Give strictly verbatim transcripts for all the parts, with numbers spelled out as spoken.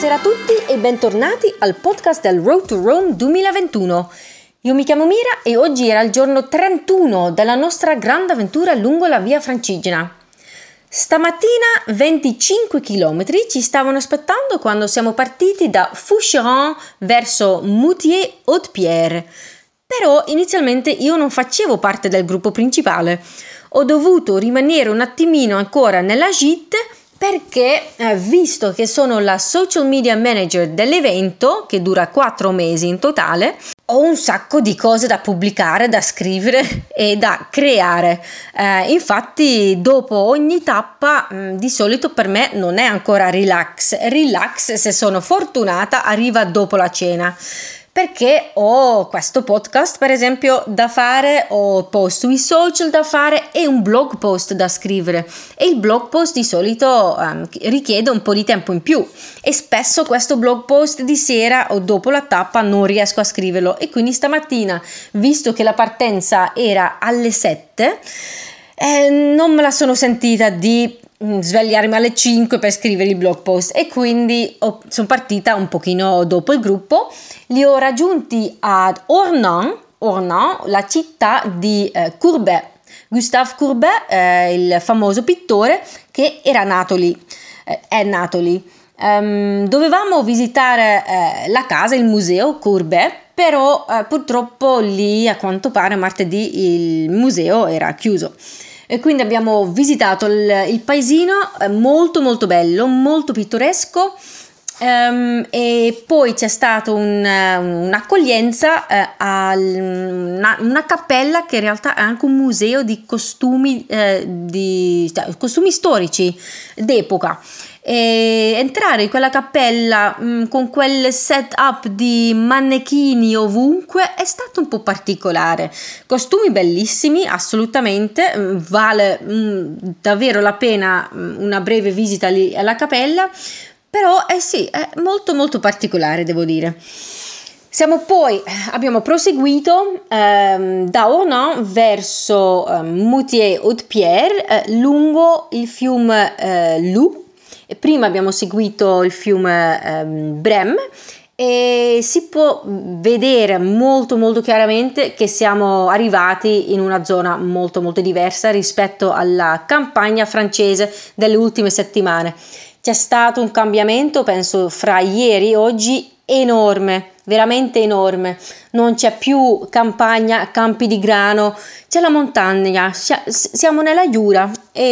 Buonasera a tutti e bentornati al podcast del Road to Rome duemilaventuno. Io mi chiamo Mira e oggi era il giorno trentuno della nostra grande avventura lungo la Via Francigena. Stamattina venticinque chilometri ci stavano aspettando quando siamo partiti da Foucheron verso Moutier-Haute-Pierre. Però inizialmente io non facevo parte del gruppo principale. Ho dovuto rimanere un attimino ancora nella gite perché, eh, visto che sono la social media manager dell'evento, che dura quattro mesi in totale, ho un sacco di cose da pubblicare, da scrivere e da creare. Eh, infatti, dopo ogni tappa, mh, di solito per me non è ancora relax. Relax, se sono fortunata, arriva dopo la cena. Perché ho questo podcast, per esempio, da fare, ho post sui social da fare e un blog post da scrivere. E il blog post di solito um, richiede un po' di tempo in più e spesso questo blog post di sera o dopo la tappa non riesco a scriverlo. E quindi stamattina, visto che la partenza era alle sette, eh, non me la sono sentita di svegliarmi alle cinque per scrivere il blog post e quindi ho, sono partita un pochino dopo il gruppo. Li ho raggiunti ad Ornans, Ornans, la città di eh, Courbet. Gustave Courbet, eh, il famoso pittore che era nato lì, eh, è nato lì. Um, dovevamo visitare eh, la casa, il museo Courbet, però eh, purtroppo lì a quanto pare martedì il museo era chiuso. E quindi abbiamo visitato il, il paesino, eh, molto molto bello, molto pittoresco, um, e poi c'è stata un, un'accoglienza eh, a una, una cappella che in realtà è anche un museo di costumi, eh, di, cioè, costumi storici d'epoca. E entrare in quella cappella mh, con quel setup di mannequini ovunque è stato un po' particolare. Costumi bellissimi, assolutamente, mh, vale mh, davvero la pena mh, una breve visita lì alla cappella, però eh sì, è molto molto particolare, devo dire. Siamo poi, abbiamo proseguito ehm, da Ornans verso eh, Moutier-Haute-Pierre eh, lungo il fiume eh, Loup. E prima abbiamo seguito il fiume ehm, Brème e si può vedere molto molto chiaramente che siamo arrivati in una zona molto molto diversa rispetto alla campagna francese delle ultime settimane. C'è stato un cambiamento, penso, fra ieri e oggi enorme, veramente enorme. Non c'è più campagna, campi di grano, c'è la montagna, siamo nella Giura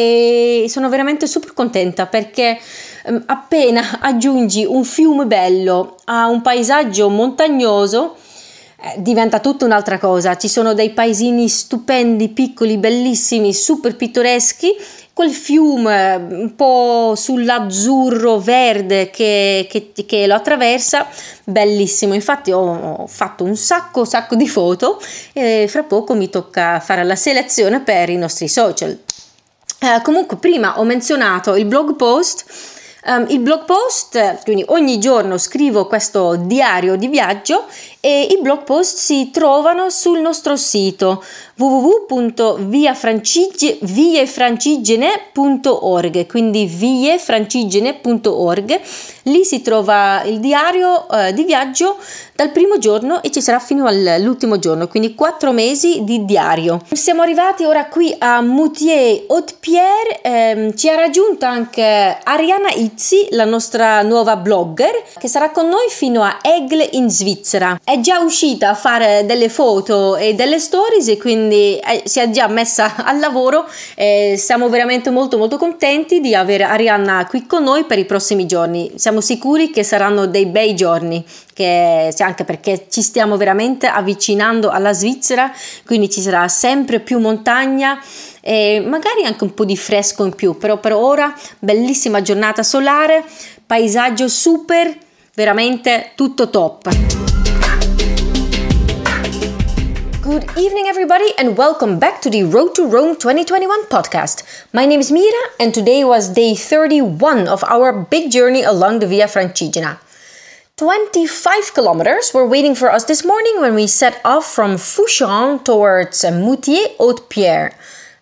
e sono veramente super contenta perché appena aggiungi un fiume bello a un paesaggio montagnoso eh, diventa tutta un'altra cosa. Ci sono dei paesini stupendi, piccoli, bellissimi, super pittoreschi, quel fiume un po' sull'azzurro verde che, che, che lo attraversa, bellissimo. Infatti ho, ho fatto un sacco sacco di foto e fra poco mi tocca fare la selezione per i nostri social. Eh, comunque prima ho menzionato il blog post. Um, il blog post, quindi ogni giorno scrivo questo diario di viaggio e i blog post si trovano sul nostro sito w w w punto via francigene punto org, quindi viefrancigene punto org. Lì si trova il diario uh, di viaggio dal primo giorno e ci sarà fino all'ultimo giorno, quindi quattro mesi di diario. Siamo arrivati ora qui a Moutier-Haute-Pierre, ehm, ci ha raggiunto anche Arianna Izzi, la nostra nuova blogger, che sarà con noi fino a Aigle in Svizzera. È già uscita a fare delle foto e delle stories e quindi eh, si è già messa al lavoro e siamo veramente molto molto contenti di avere Arianna qui con noi per i prossimi giorni. Siamo sicuri che saranno dei bei giorni, che anche perché ci stiamo veramente avvicinando alla Svizzera, quindi ci sarà sempre più montagna e magari anche un po' di fresco in più, però per ora bellissima giornata solare, paesaggio super, veramente tutto top. Good evening everybody and welcome back to the Road to Rome twenty twenty-one podcast. My name is Mira and today was day thirty-one of our big journey along the Via Francigena. twenty-five kilometers were waiting for us this morning when we set off from Foucheron towards Moutier-Haute-Pierre.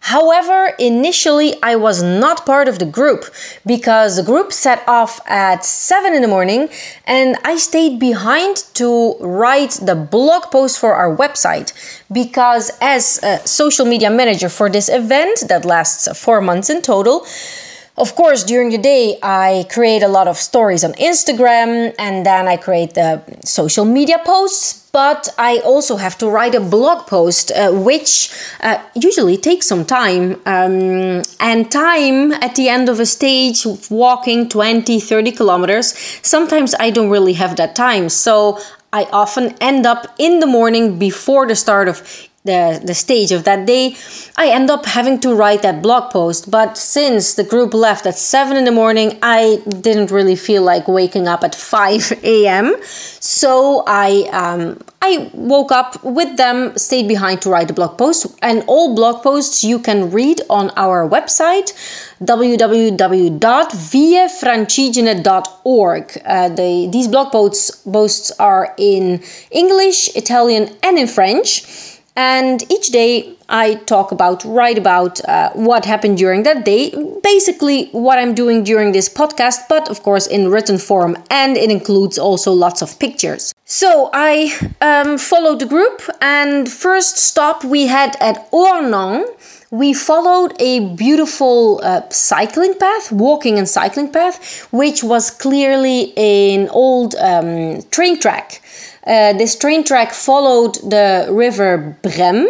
However, initially I was not part of the group because the group set off at seven in the morning and I stayed behind to write the blog post for our website because as a social media manager for this event that lasts four months in total, of course, during the day, I create a lot of stories on Instagram and then I create the social media posts, but I also have to write a blog post, uh, which uh, usually takes some time. Um, and time at the end of a stage, walking twenty, thirty kilometers, sometimes I don't really have that time. So I often end up in the morning before the start of the the stage of that day, I end up having to write that blog post. But since the group left at seven in the morning, I didn't really feel like waking up at five a.m. So I um, I woke up with them, stayed behind to write the blog post. And all blog posts you can read on our website, w w w dot via francigena dot org. Uh, the, these blog posts, posts are in English, Italian, and in French. And each day I talk about, write about uh, what happened during that day, basically what I'm doing during this podcast, but of course in written form, and it includes also lots of pictures. So I um, followed the group, and first stop we had at Ornans. We followed a beautiful uh, cycling path, walking and cycling path, which was clearly an old um, train track. Uh, this train track followed the river Brem,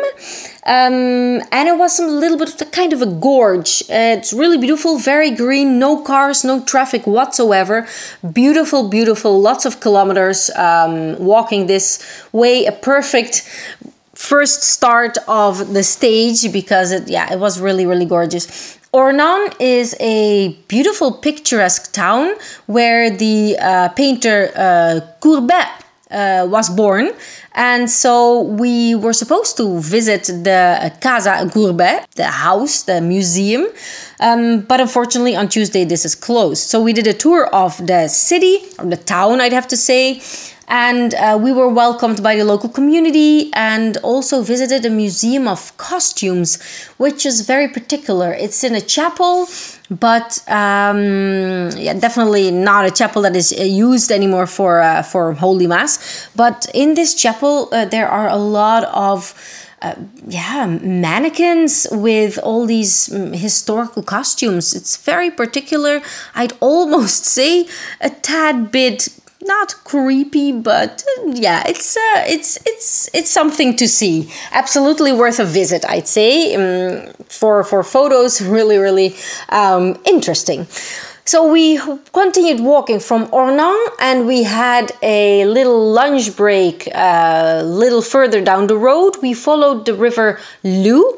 um, and it was a little bit of a kind of a gorge. Uh, it's really beautiful, very green, no cars, no traffic whatsoever. Beautiful, beautiful, lots of kilometers um, walking this way. A perfect first start of the stage because it, yeah, it was really, really gorgeous. Ornans is a beautiful, picturesque town where the uh, painter uh, Courbet Uh, was born, and so we were supposed to visit the Casa Courbet, the house, the museum, um, but unfortunately on Tuesday this is closed. So we did a tour of the city, or the town I'd have to say, and uh, we were welcomed by the local community and also visited a museum of costumes, which is very particular. It's in a chapel, but um, yeah, definitely not a chapel that is used anymore for uh, for Holy Mass. But in this chapel, uh, there are a lot of uh, yeah mannequins with all these um, historical costumes. It's very particular. I'd almost say a tad bit not creepy, but uh, yeah, it's uh, it's it's it's something to see. Absolutely worth a visit, I'd say. Um, for for photos, really really um, interesting. So we continued walking from Ornans, and we had a little lunch break a uh, little further down the road. We followed the river Lu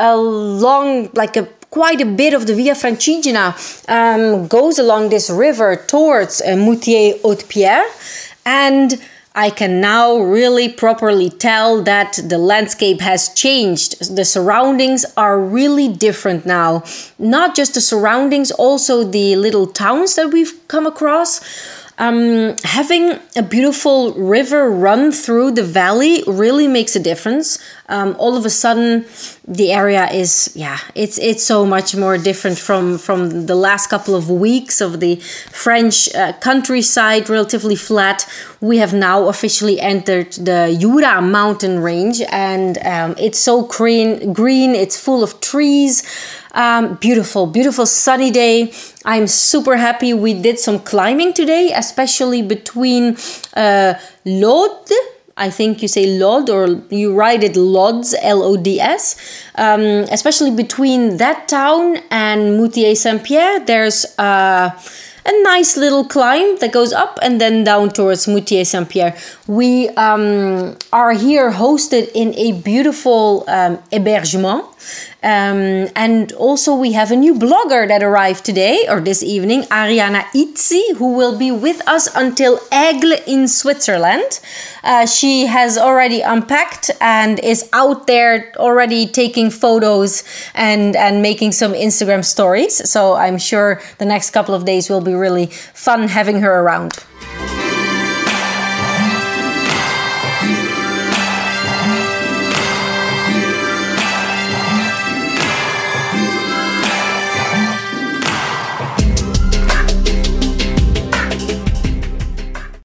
along like a quite a bit of the Via Francigena um, goes along this river towards uh, Moutier-Haute-Pierre, and I can now really properly tell that the landscape has changed. The surroundings are really different now. Not just the surroundings, also the little towns that we've come across. Um, having a beautiful river run through the valley really makes a difference. Um, all of a sudden, the area is, yeah, it's it's so much more different from, from the last couple of weeks of the French uh, countryside, relatively flat. We have now officially entered the Jura mountain range, and um, it's so green, green, it's full of trees. Um, beautiful, beautiful sunny day. I'm super happy we did some climbing today, especially between uh, Lods. I think you say Lod, or you write it Lods, L O D S. Um, especially between that town and Moutier-Saint-Pierre, there's uh, a nice little climb that goes up and then down towards Moutier-Saint-Pierre. We um, are here hosted in a beautiful um, hébergement. Um, and also we have a new blogger that arrived today or this evening, Ariana Itzi, who will be with us until Aigle in Switzerland. Uh, she has already unpacked and is out there already taking photos and, and making some Instagram stories. So I'm sure the next couple of days will be really fun having her around.